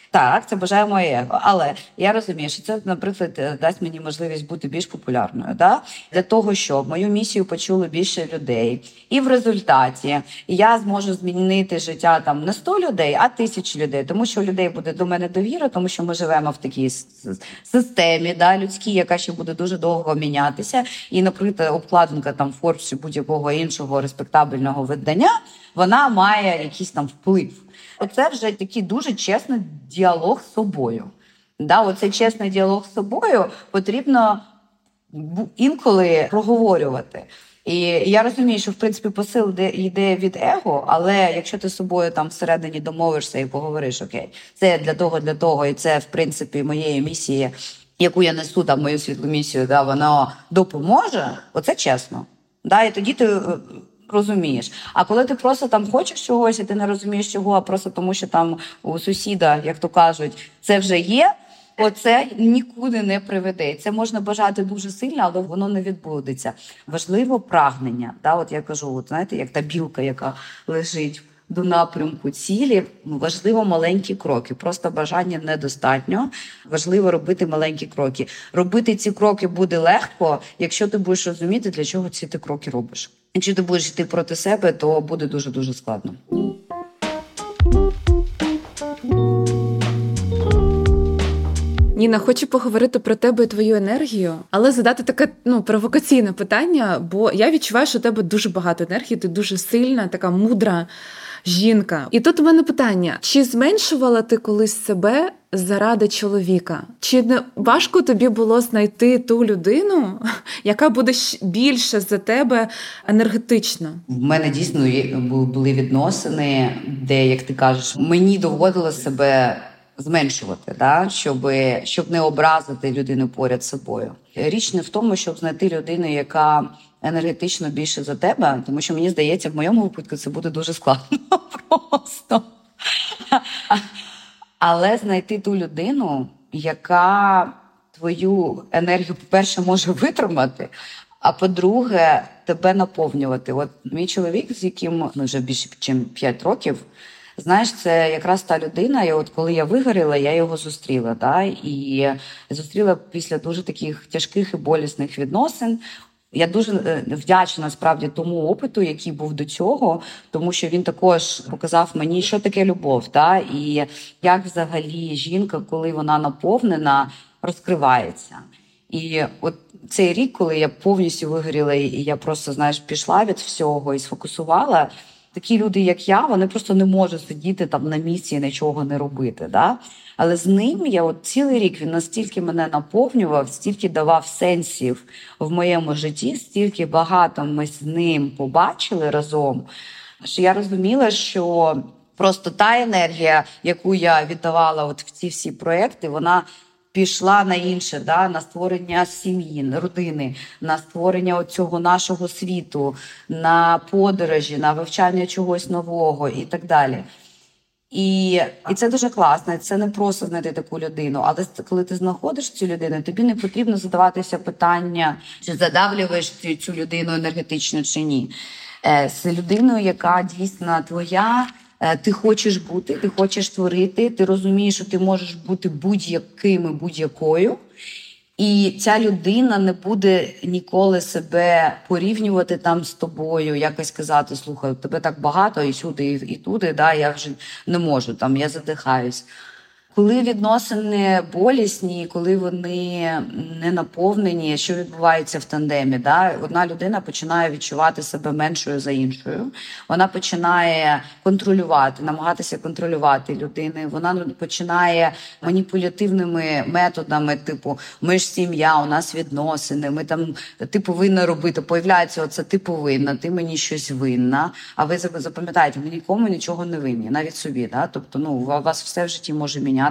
Так, це бажає моє его. Але я розумію, що це, наприклад, дасть мені можливість бути більш популярною. Да? Для того, щоб мою місію почули більше людей. І в результаті я зможу змінити життя там не сто людей, а тисячі людей. Тому що у людей буде до мене довіра, тому що ми живемо в такій системі, да, людській, яка ще буде дуже довго мінятися. І, наприклад, обкладинка там Forbes чи будь-якого іншого респектабельного видання, вона має якийсь там вплив. Оце вже такий дуже чесний діалог з собою. Да, оцей чесний діалог з собою потрібно інколи проговорювати. І я розумію, що, в принципі, посил йде від его, але якщо ти з собою там всередині домовишся і поговориш, окей, це для того, для того, і це, в принципі, моєї місії, яку я несу, там, мою світлу місію, да, воно допоможе, оце чесно. Да, і тоді ти розумієш. А коли ти просто там хочеш чогось, і ти не розумієш чого, а просто тому, що там у сусіда, як то кажуть, це вже є, оце нікуди не приведе. Це можна бажати дуже сильно, але воно не відбудеться. Важливо прагнення. Да? От я кажу, от, знаєте, як та білка, яка лежить до напрямку цілі, важливо маленькі кроки. Просто бажання недостатньо. Важливо робити маленькі кроки. Робити ці кроки буде легко, якщо ти будеш розуміти, для чого ці ти кроки робиш. Якщо ти будеш йти проти себе, то буде дуже-дуже складно. Ніна, хочу поговорити про тебе і твою енергію, але задати таке ну, провокаційне питання, бо я відчуваю, що у тебе дуже багато енергії, ти дуже сильна, така мудра жінка. І тут у мене питання, чи зменшувала ти колись себе заради чоловіка? Чи не важко тобі було знайти ту людину, яка буде більше за тебе енергетично? В мене дійсно були відносини, де, як ти кажеш, мені доводилось себе зменшувати, да? щоб, щоб не образити людину поряд з собою. Річ не в тому, щоб знайти людину, яка енергетично більше за тебе, тому що, мені здається, в моєму випадку це буде дуже складно просто. Але знайти ту людину, яка твою енергію, по-перше, може витримати, а по-друге, тебе наповнювати. От мій чоловік, з яким ми вже більше, ніж п'ять років, знаєш, це якраз та людина, і от коли я вигоріла, я його зустріла. Да? І зустріла після дуже таких тяжких і болісних відносин. Я дуже вдячна, насправді, тому опиту, який був до цього, тому що він також показав мені, що таке любов, да? І як взагалі жінка, коли вона наповнена, розкривається. І от цей рік, коли я повністю вигоріла, і я просто, знаєш, пішла від всього і сфокусувала, такі люди, як я, вони просто не можуть сидіти там на місці і нічого не робити. Да? Але з ним я от цілий рік, він настільки мене наповнював, стільки давав сенсів в моєму житті, стільки багато ми з ним побачили разом, що я розуміла, що просто та енергія, яку я віддавала от в ці всі проекти, вона пішла на інше, да, на створення сім'ї, родини, на створення цього нашого світу, на подорожі, на вивчання чогось нового і так далі. І, і це дуже класно, це не просто знайти таку людину, але коли ти знаходиш цю людину, тобі не потрібно задаватися питання, чи задавлюєш цю, цю людину енергетично чи ні. З людиною, яка дійсно твоя, ти хочеш бути, ти хочеш творити, ти розумієш, що ти можеш бути будь-яким і будь-якою. І ця людина не буде ніколи себе порівнювати там з тобою, якось казати, слухай, тебе так багато і сюди, і, і туди, да, я вже не можу, там, я задихаюсь. Коли відносини болісні, коли вони не наповнені, що відбувається в тандемі? Да? Одна людина починає відчувати себе меншою за іншою. Вона починає контролювати, намагатися контролювати людини. Вона починає маніпулятивними методами, типу, ми ж сім'я, у нас відносини, ми там, ти повинна робити. Появляється оце, ти повинна, ти мені щось винна. А ви запам'ятаєте, ми нікому нічого не винні, навіть собі. Да? Тобто, ну, у вас все в житті може мінятися.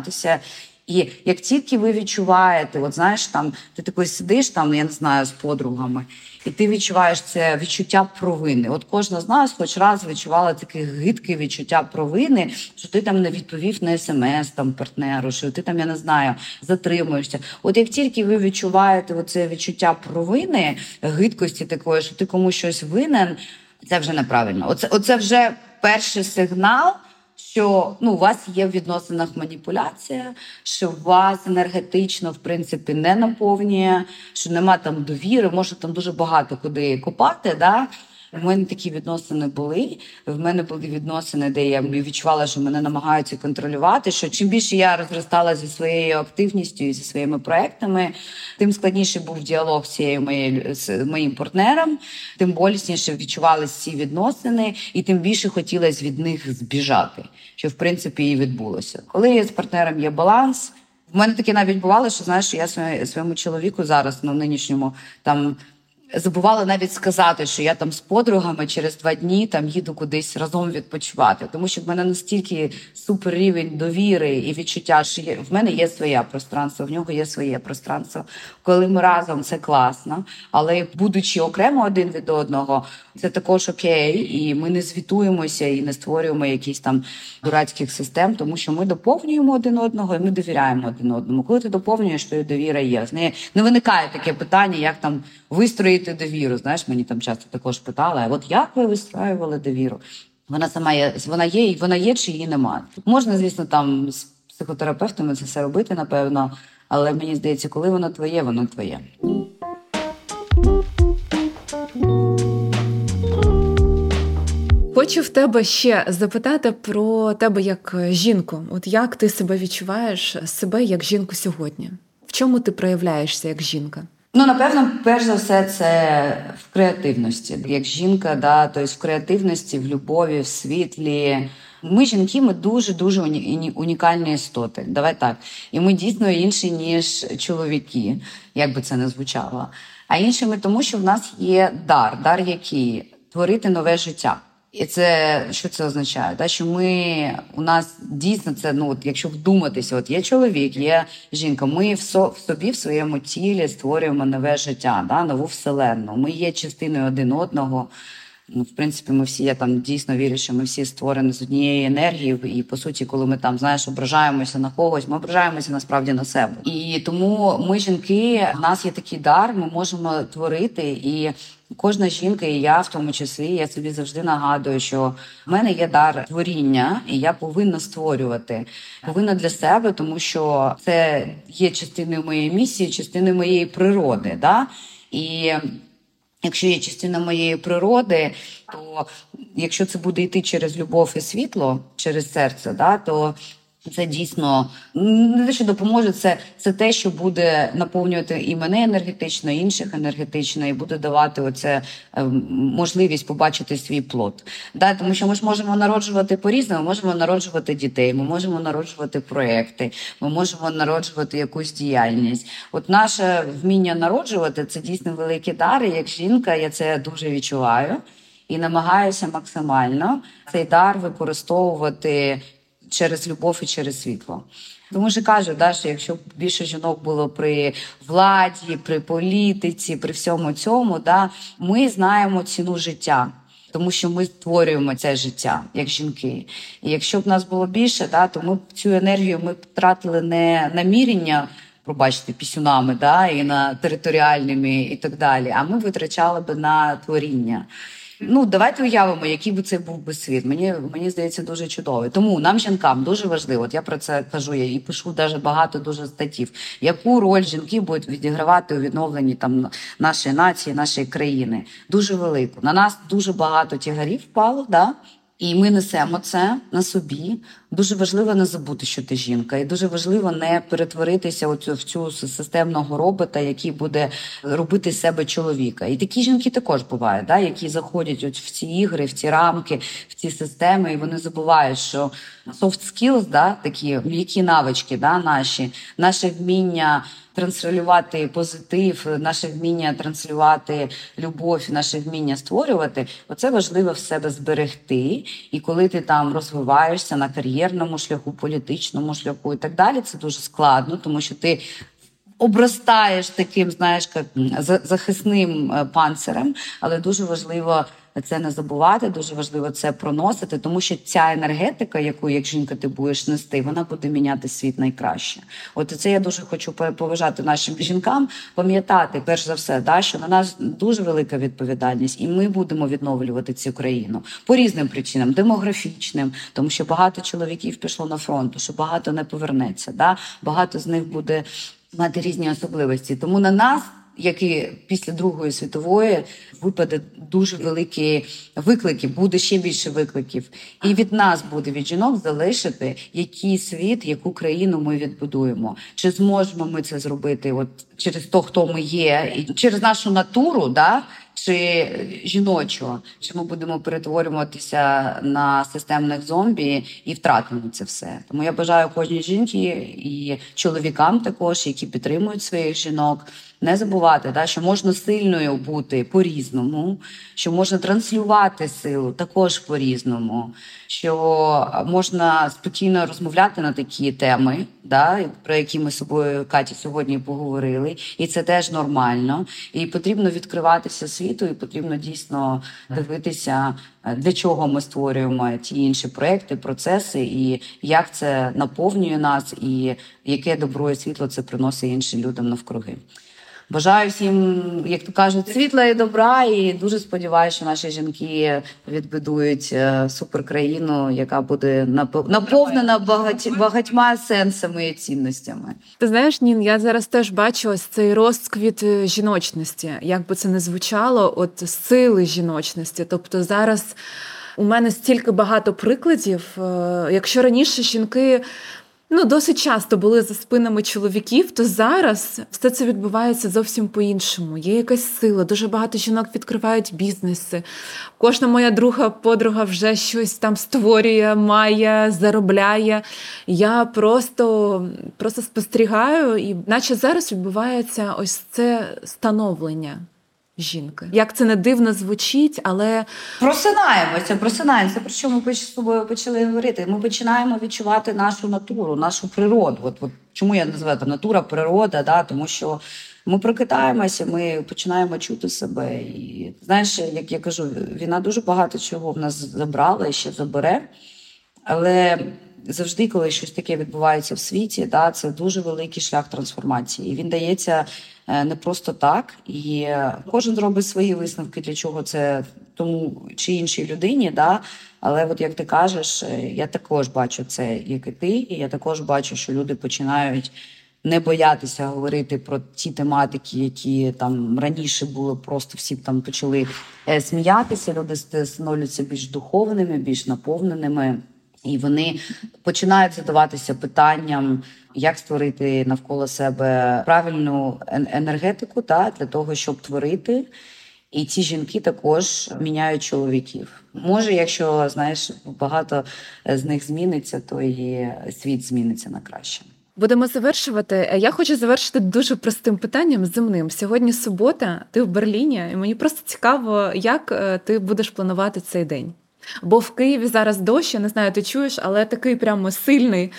І як тільки ви відчуваєте, от знаєш, там ти такий сидиш, там, я не знаю, з подругами, і ти відчуваєш це відчуття провини. От кожна з нас хоч раз відчувала таке гидке відчуття провини, що ти там не відповів на смс там партнеру, що ти там, я не знаю, затримуєшся. От як тільки ви відчуваєте оце відчуття провини, гидкості такої, що ти комусь щось винен, це вже неправильно. Оце, оце вже перший сигнал, що ну, у вас є в відносинах маніпуляція, що вас енергетично, в принципі, не наповнює, що нема там довіри, може там дуже багато куди копати, да? У мене такі відносини були. В мене були відносини, де я відчувала, що мене намагаються контролювати, що чим більше я розростала зі своєю активністю і зі своїми проектами, тим складніше був діалог з цією моєю, з моїм партнером, тим болісніше відчувалися ці відносини, і тим більше хотілося від них збіжати, що, в принципі, і відбулося. Коли з партнером є баланс, в мене таке навіть бувало, що, знаєш, я своєму чоловіку зараз, ну, нинішньому, там, забувала навіть сказати, що я там з подругами через два дні там їду кудись разом відпочивати. Тому що в мене настільки супер рівень довіри і відчуття, що є, в мене є своє пространство, в нього є своє пространство. Коли ми разом, це класно, але будучи окремо один від одного, це також окей, і ми не звітуємося і не створюємо якісь там дурацьких систем, тому що ми доповнюємо один одного і ми довіряємо один одному. Коли ти доповнюєш, то і довіра є. З неї не виникає таке питання, як там вистроїти довіру. Знаєш, мені там часто також питали, а от як ви вистроювали довіру? Вона сама є, вона є, і вона є, чи її немає. Можна, звісно, там з психотерапевтами це все робити, напевно, але мені здається, коли воно твоє, воно твоє. Хочу в тебе ще запитати про тебе як жінку. От як ти себе відчуваєш, себе як жінку сьогодні? В чому ти проявляєшся як жінка? Ну, напевно, перш за все, це в креативності. Як жінка, да, тобто в креативності, в любові, в світлі. Ми, жінки, ми дуже-дуже унікальні істоти. Давай так. І ми дійсно інші, ніж чоловіки, як би це не звучало. А іншими тому, що в нас є дар. Дар який? Творити нове життя. І це, що це означає? Да? Що ми, у нас дійсно це, ну, от, якщо вдуматися, от є чоловік, є жінка, ми в, со, в собі, в своєму тілі створюємо нове життя, да? Нову вселенну. Ми є частиною один одного. Ну, в принципі, ми всі, я там дійсно вірю, що ми всі створені з однієї енергії, і, по суті, коли ми там, знаєш, ображаємося на когось, ми ображаємося насправді на себе. І тому ми, жінки, в нас є такий дар, ми можемо творити, і кожна жінка, і я в тому числі, я собі завжди нагадую, що в мене є дар творіння, і я повинна створювати. Повинна для себе, тому що це є частиною моєї місії, частиною моєї природи, да? І якщо є частина моєї природи, то якщо це буде йти через любов і світло, через серце, да, то це дійсно не те, що допоможе, це, це те, що буде наповнювати і мене енергетично, і інших енергетично, і буде давати оце, е, можливість побачити свій плод. Да, тому що ми ж можемо народжувати по-різному, ми можемо народжувати дітей, ми можемо народжувати проекти, ми можемо народжувати якусь діяльність. От наше вміння народжувати – це дійсно великі дари. Як жінка я це дуже відчуваю і намагаюся максимально цей дар використовувати через любов і через світло. Тому що кажу, да, що якщо б більше жінок було при владі, при політиці, при всьому цьому, да, ми знаємо ціну життя, тому що ми створюємо це життя, як жінки. І якщо б нас було більше, да, то ми б цю енергію ми б тратили не на мірення, пробачте, пісюнами, да, і на територіальними і так далі, а ми витрачали б на творіння. Ну, давайте уявимо, який би це був би світ. Мені, мені здається, дуже чудовий. Тому нам, жінкам, дуже важливо, от я про це кажу, я і пишу даже багато дуже статтів, яку роль жінки будуть відігравати у відновленні там нашої нації, нашої країни. Дуже велику. На нас дуже багато тягарів впало, да? І ми несемо це на собі. Дуже важливо не забути, що ти жінка. І дуже важливо не перетворитися оцю, в цю системного робота, який буде робити з себе чоловіка. І такі жінки також бувають, да, які заходять от в ці ігри, в ці рамки, в ці системи, і вони забувають, що soft skills, да, такі м'які навички, да, наші, наше вміння транслювати позитив, наше вміння транслювати любов, наше вміння створювати, оце важливо в себе зберегти. І коли ти там розвиваєшся на кар'єрному шляху, політичному шляху і так далі, це дуже складно, тому що ти обростаєш таким, знаєш, як захисним панцирем, але дуже важливо це не забувати, дуже важливо це проносити, тому що ця енергетика, яку як жінка ти будеш нести, вона буде міняти світ найкраще. От це я дуже хочу поважати нашим жінкам, пам'ятати, перш за все, да, що на нас дуже велика відповідальність, і ми будемо відновлювати цю країну по різним причинам, демографічним, тому що багато чоловіків пішло на фронт, що багато не повернеться, да, багато з них буде мати різні особливості. Тому на нас, як і після Другої світової, випаде дуже великі виклики, буде ще більше викликів. І від нас буде, від жінок, залишити, який світ, яку країну ми відбудуємо. Чи зможемо ми це зробити от через те, хто ми є, і через нашу натуру, да? Чи жіночого, чи ми будемо перетворюватися на системних зомбі і втратимо це все. Тому я бажаю кожній жінці і чоловікам також, які підтримують своїх жінок, не забувати, да, що можна сильною бути по-різному, що можна транслювати силу також по-різному, що можна спокійно розмовляти на такі теми, да, про які ми з собою, Катя, сьогодні поговорили, і це теж нормально. І потрібно відкриватися світу, і потрібно дійсно дивитися, для чого ми створюємо ті інші проекти, процеси, і як це наповнює нас, і яке добро і світло це приносить іншим людям навкруги. Бажаю всім, як то кажуть, світла і добра, і дуже сподіваюся, що наші жінки відбудують суперкраїну, яка буде наповнена багать, багатьма сенсами і цінностями. Ти знаєш, Нін, я зараз теж бачу ось цей розквіт жіночності, як би це не звучало, от сили жіночності. Тобто зараз у мене стільки багато прикладів. Якщо раніше жінки ну, досить часто були за спинами чоловіків, то зараз все це відбувається зовсім по-іншому. Є якась сила, дуже багато жінок відкривають бізнеси. Кожна моя друга подруга вже щось там створює, має, заробляє. Я просто, просто спостерігаю, і наче зараз відбувається ось це становлення жінки. Як це не дивно звучить, але... Просинаємося, просинаємося. Про що ми з тобою почали говорити? Ми починаємо відчувати нашу натуру, нашу природу. От, от чому я називаю там натура, природа, да? Тому що ми прокидаємося, ми починаємо чути себе. І знаєш, як я кажу, війна дуже багато чого в нас забрала і ще забере. Але завжди, коли щось таке відбувається в світі, да, це дуже великий шлях трансформації. І він дається не просто так. І кожен зробить свої висновки, для чого це тому чи іншій людині. Да? Але от як ти кажеш, я також бачу це, як і ти. І я також бачу, що люди починають не боятися говорити про ті тематики, які там раніше було, просто всі там почали сміятися. Люди становляться більш духовними, більш наповненими. І вони починають задаватися питанням, як створити навколо себе правильну енергетику, та, для того, щоб творити. І ці жінки також міняють чоловіків. Може, якщо, знаєш, багато з них зміниться, то і світ зміниться на краще. Будемо завершувати. Я хочу завершити дуже простим питанням земним. Сьогодні субота, ти в Берліні, і мені просто цікаво, як ти будеш планувати цей день. Бо в Києві зараз дощ, я не знаю, ти чуєш, але такий прямо сильний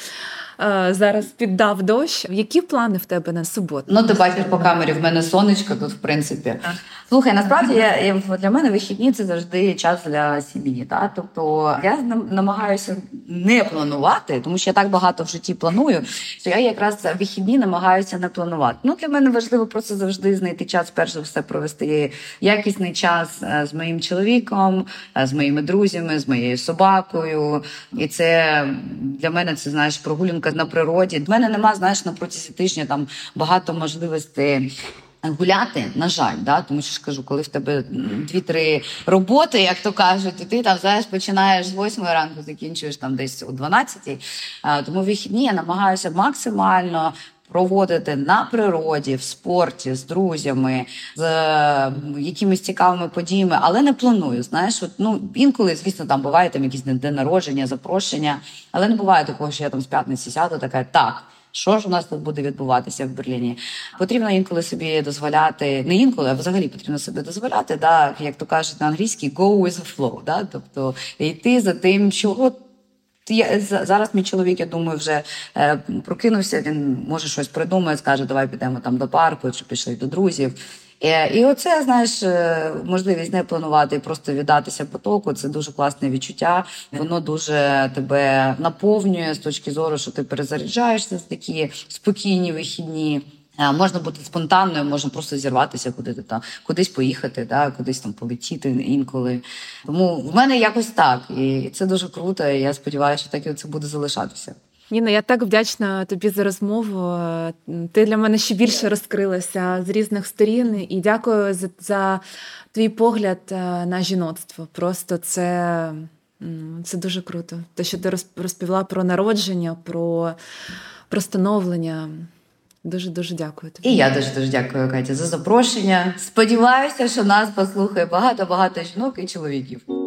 зараз піддав дощ. Які плани в тебе на суботу? Ну, ти бачиш по камері, в мене сонечко тут, в принципі. Слухай, насправді, я, для мене вихідні – це завжди час для сім'ї. Та? Тобто я намагаюся не планувати, тому що я так багато в житті планую, що я якраз вихідні намагаюся не планувати. Ну, для мене важливо просто завжди знайти час, перш за все, провести якісний час з моїм чоловіком, з моїми друзями, з моєю собакою. І це для мене, це, знаєш, прогулянка на природі. В мене нема, знаєш, на протязі тижня там багато можливостей гуляти, на жаль, да? Тому що ж кажу, коли в тебе дві-три роботи, як то кажуть, і ти там, знаєш, починаєш з восьмої ранку, закінчуєш там десь о дванадцятій. Тому вихідні я намагаюся максимально проводити на природі, в спорті, з друзями, з е, якимись цікавими подіями, але не планую, знаєш. От, ну, інколи, звісно, там буває там якісь день народження, запрошення, але не буває такого, що я там з п'ятниці сяду, така, так, що ж у нас тут буде відбуватися в Берліні? Потрібно інколи собі дозволяти, не інколи, а взагалі потрібно собі дозволяти, да, як то кажуть на англійській, go with the flow, да, тобто йти за тим, чого я, зараз мій чоловік, я думаю, вже е, прокинувся, він може щось придумає, скаже, давай підемо там до парку, чи пішли до друзів. І оце, знаєш, можливість не планувати і просто віддатися потоку, це дуже класне відчуття. Воно дуже тебе наповнює з точки зору, що ти перезаряджаєшся з такі спокійні вихідні. Можна бути спонтанною, можна просто зірватися, куди-то там, кудись поїхати, да, кудись там полетіти інколи. Тому в мене якось так, і це дуже круто, і я сподіваюся, що так і це буде залишатися. Ніна, я так вдячна тобі за розмову. Ти для мене ще більше розкрилася з різних сторін. І дякую за, за твій погляд на жіноцтво. Просто це, це дуже круто. Те, що ти розповіла про народження, про, про становлення. Дуже-дуже дякую тобі. І я дуже-дуже дякую, Катя, за запрошення. Сподіваюся, що нас послухає багато-багато жінок і чоловіків.